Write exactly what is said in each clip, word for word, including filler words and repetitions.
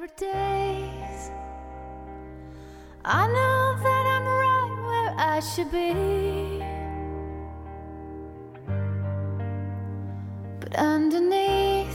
favorite days. I know that I'm right where I should be, but underneath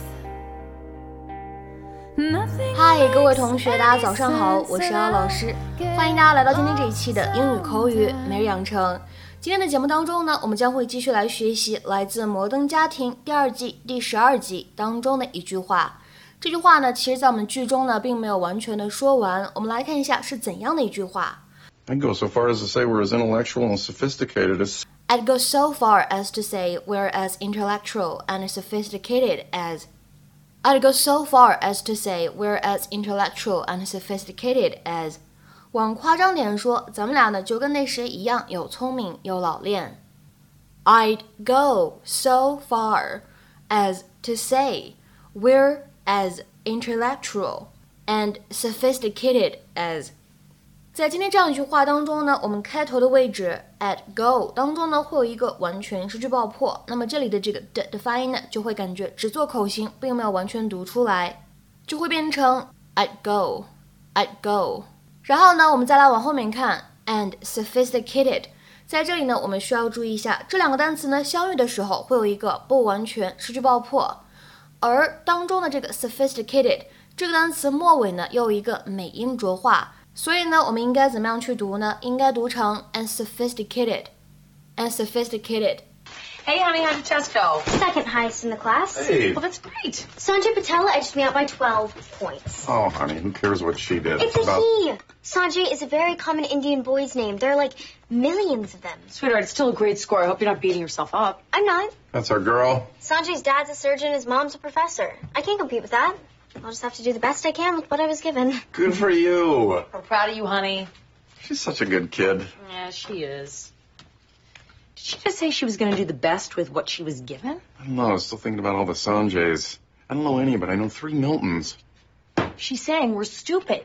nothing. 嗨，各位同学，大家早上好，我是姚老师，欢迎大家来到今天这一期的英语口语每日养成。今天的节目当中呢，我们将会继续来学习来自《摩登家庭》第二季第十二集当中的一句话。这句话呢，其实在我们剧中呢并没有完全的说完，我们来看一下是怎样的一句话。 I'd go so far as to say we're as intellectual and sophisticated as... I'd go so far as to say we're as intellectual and sophisticated as... I'd go so far as to say we're as intellectual and sophisticated as... 往夸张点说，咱们俩呢就跟那谁一样，有聪明又老练。I'd go so far as to say we're as intellectual and sophisticated as... 在今天这样一句话当中呢，我们开头的位置 at go 当中呢会有一个完全失去爆破，那么这里的这个的的发音呢就会感觉只做口型，并没有完全读出来，就会变成 I'd go I'd go。 然后呢我们再来往后面看 and sophisticated， 在这里呢我们需要注意一下，这两个单词呢相遇的时候会有一个不完全失去爆破，而当中的这个 sophisticated 这个单词末尾呢又有一个美音浊化，所以呢我们应该怎么样去读呢？应该读成 and sophisticated and sophisticated。 Hey honey, how'd your test go? Second highest in the class. Hey. Well, that's great. Sanjay Patella edged me out by twelve points. Oh, honey, who cares what she did? It's a about... he. Sanjay is a very common Indian boy's name. There are like millions of them. Sweetheart, it's still a great score. I hope you're not beating yourself up. I'm not. That's our girl. Sanjay's dad's a surgeon, his mom's a professor. I can't compete with that. I'll just have to do the best I can with what I was given. Good for you. We're proud of you, honey. She's such a good kid. Yeah, she is. Did she just say she was going to do the best with what she was given? I don't know. I was still thinking about all the Sanjays. I don't know any, but I know three Miltons. She's saying we're stupid.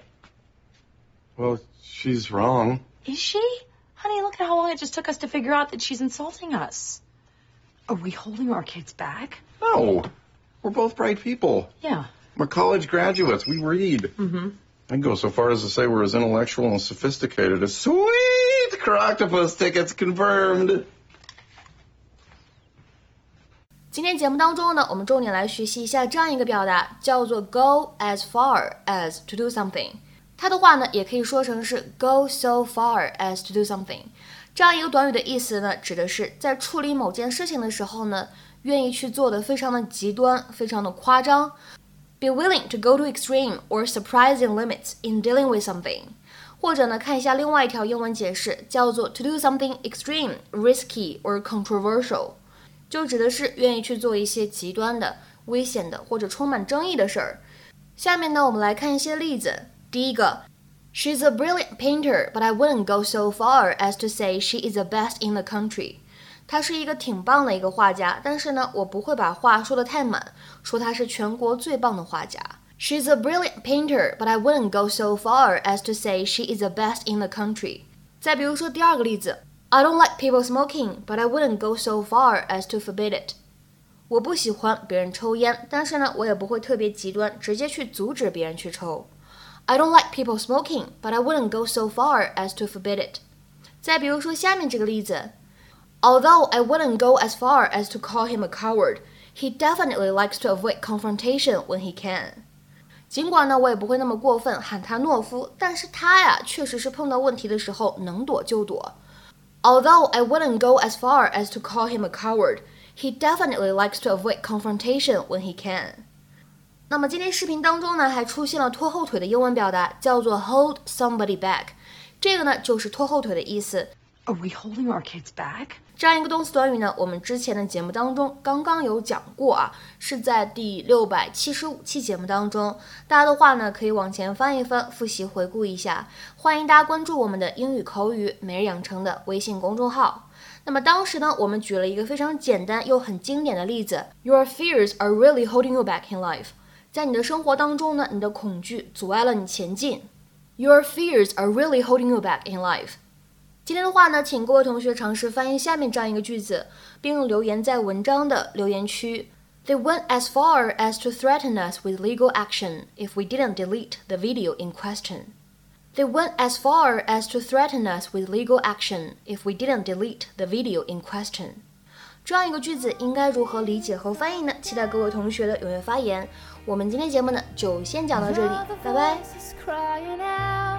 Well, she's wrong. Is she? Honey, look at how long it just took us to figure out that she's insulting us. Are we holding our kids back? No. We're both bright people. Yeah. We're college graduates. We read. Mm-hmm. I'd go so far as to say we're as intellectual and sophisticated as... Sweet! Croctopus tickets confirmed. 今天节目当中呢，我们重点来学习一下这样一个表达，叫做 go as far as to do something。 它的话呢也可以说成是 go so far as to do something。 这样一个短语的意思呢，指的是在处理某件事情的时候呢，愿意去做的非常的极端，非常的夸张， be willing to go to extreme or surprising limits in dealing with something。 或者呢看一下另外一条英文解释，叫做 to do something extreme, risky or controversial， 就指的是愿意去做一些极端的、危险的或者充满争议的事儿。下面呢我们来看一些例子。第一个， She's a brilliant painter, but I wouldn't go so far as to say she is the best in the country。 她是一个挺棒的一个画家，但是呢我不会把话说得太满，说她是全国最棒的画家。 She's a brilliant painter, but I wouldn't go so far as to say she is the best in the country。 再比如说第二个例子， I don't like people smoking, but I wouldn't go so far as to forbid it。 我不喜欢别人抽烟，但是呢我也不会特别极端，直接去阻止别人去抽。 I don't like people smoking, but I wouldn't go so far as to forbid it。 再比如说下面这个例子， Although I wouldn't go as far as to call him a coward, he definitely likes to avoid confrontation when he can。 尽管呢我也不会那么过分喊他懦夫，但是他呀确实是碰到问题的时候能躲就躲。 Although I wouldn't go as far as to call him a coward, he definitely likes to avoid confrontation when he can。 那么今天视频当中呢还出现了拖后腿的英文表达，叫做 hold somebody back。 这个呢就是拖后腿的意思。 Are we holding our kids back? 这样一个动词短语呢我们之前的节目当中刚刚有讲过啊，是在第六百七十五期节目当中，大家的话呢可以往前翻一翻，复习回顾一下。欢迎大家关注我们的英语口语每日养成的微信公众号。那么当时呢我们举了一个非常简单又很经典的例子， Your fears are really holding you back in life。 在你的生活当中呢，你的恐惧阻碍了你前进。 Your fears are really holding you back in life。 今天的话呢，请各位同学尝试翻译下面这样一个句子，并留言在文章的留言区。 They went as far as to threaten us with legal action if we didn't delete the video in question. They went as far as to threaten us with legal action if we didn't delete the video in question. 这样一个句子应该如何理解和翻译呢？期待各位同学的踊跃发言。我们今天节目呢就先讲到这里，拜拜。